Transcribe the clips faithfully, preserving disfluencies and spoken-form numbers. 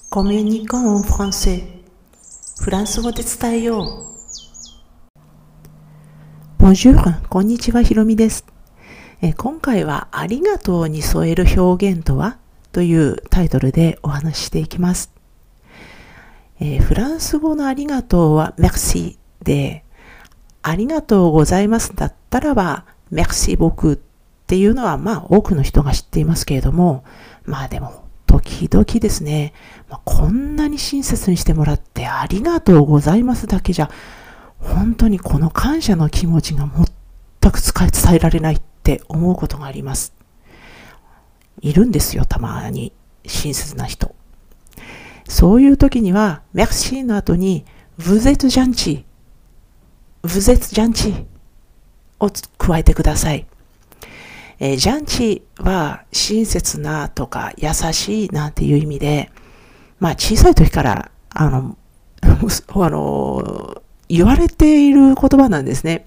コミュニコンフランセフランス語で伝えよう。Bonjour、こんにちは、ひろみです。え今回はありがとうに添える表現とはというタイトルでお話ししていきます。えフランス語のありがとうは Merci で、ありがとうございますだったらば Merci beaucoup っていうのはまあ多くの人が知っていますけれども、まあでも時々ですね、まあ、こんなに親切にしてもらってありがとうございますだけじゃ本当にこの感謝の気持ちが全く伝えられないって思うことがあります。いるんですよ、たまに親切な人。そういう時には Merci の後に Vous êtes gentil Vous êtes gentil を加えてください。えー、ジャンチは親切なとか優しいなんていう意味で、まあ小さい時からあのあの言われている言葉なんですね。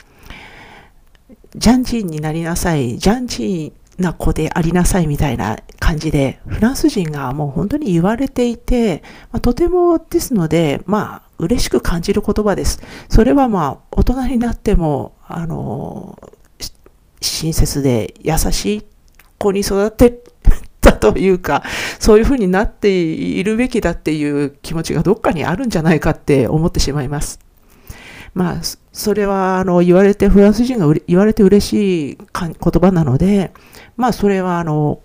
ジャンチになりなさい、ジャンチな子でありなさいみたいな感じで、フランス人がもう本当に言われていて、まあ、とてもですので、まあ嬉しく感じる言葉です。それはまあ大人になってもあの親切で優しい子に育てたというか、そういうふうになっているべきだっていう気持ちがどっかにあるんじゃないかって思ってしまいます。まあ、それはあの言われて、フランス人が言われて嬉しい言葉なので、まあそれはあの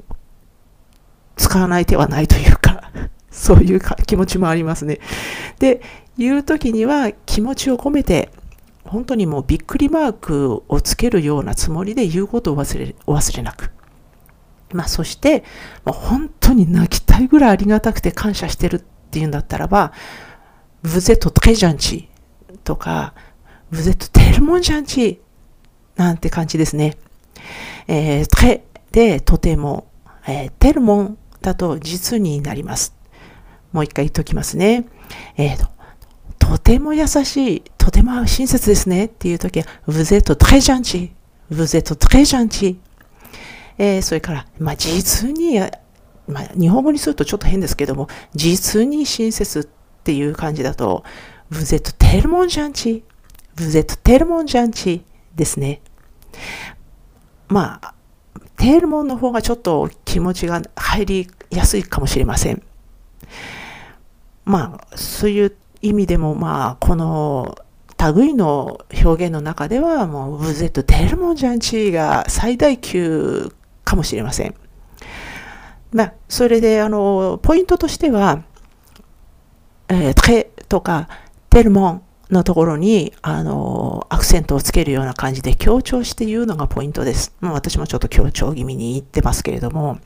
使わない手はないというか、そういう気持ちもありますね。で、言うときには気持ちを込めて、本当にもうびっくりマークをつけるようなつもりで言うことを忘れ、お忘れなく。まあそして、もう本当に泣きたいぐらいありがたくて感謝してるっていうんだったらば、Vous êtes très gentil とか、Vous êtes tellement gentil なんて感じですね。えー、très でとても、えー、tellement だと実になります。もう一回言っときますね。えーととても優しい、とても親切ですねっていうときは、Vous êtes très gentil, Vous êtes très gentil。えー、それから、まあ、実に、まあ、日本語にするとちょっと変ですけども、実に親切っていう感じだと、Vous êtes tellement gentil, Vous êtes tellement gentil ですね。まあ、tellement の方がちょっと気持ちが入りやすいかもしれません。まあ、そういう意味でも、まあ、この類の表現の中では、もう、Vous êtes tellement gentil が最大級かもしれません。まあ、それで、あの、ポイントとしては、えー、très とか、tellement のところに、あの、アクセントをつけるような感じで強調して言うのがポイントです。まあ、私もちょっと強調気味に言ってますけれども。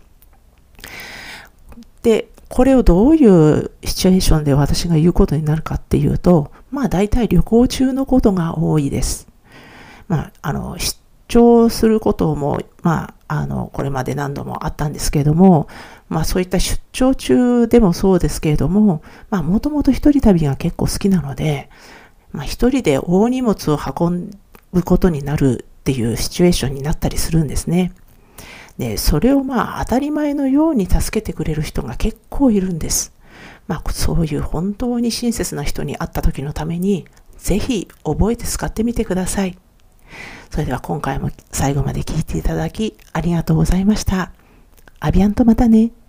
で、これをどういうシチュエーションで私が言うことになるかっていうと、まあ大体旅行中のことが多いです。まあ、あの、出張することも、まあ、あの、これまで何度もあったんですけれども、まあそういった出張中でもそうですけれども、まあもともと一人旅が結構好きなので、まあ一人で大荷物を運ぶことになるっていうシチュエーションになったりするんですね。で、それをまあ当たり前のように助けてくれる人が結構いるんです。まあそういう本当に親切な人に会った時のために、ぜひ覚えて使ってみてください。それでは今回も最後まで聞いていただきありがとうございました。アビアンとまたね。